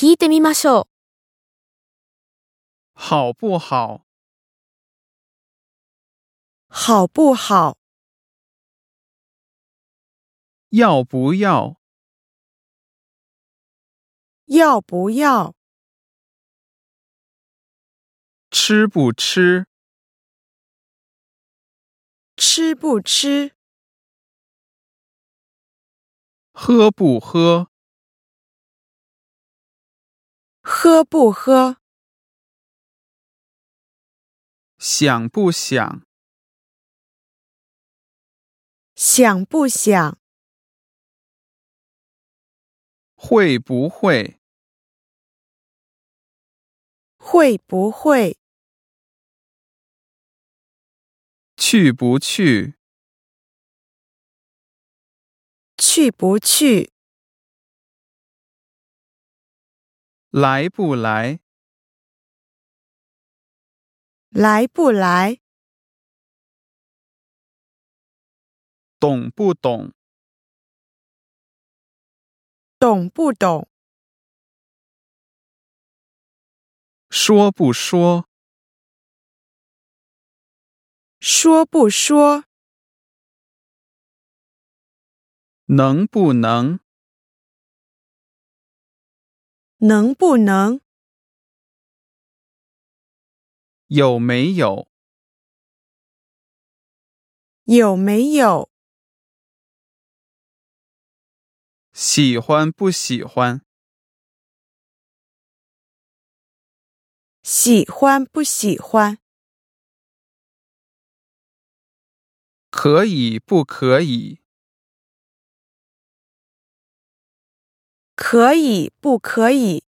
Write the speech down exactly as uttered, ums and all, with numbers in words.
聞いてみましょう。 好不好？ 好不好？ 要不要？ 要不要？ 吃不吃？ 吃不吃？ 喝不喝？ 喝不喝？ 想不想？ 想不想？ 会不会？ 会不会？ 去不去？ 去不去？ 来不来？ 来不来？ 懂不懂？ 懂不懂？ 说不说？ 说不说？ 能不能？ 能不能？ 有没有？ 有没有？ 喜欢不喜欢？ 喜欢不喜欢？ 可以不可以？ 可以不可以？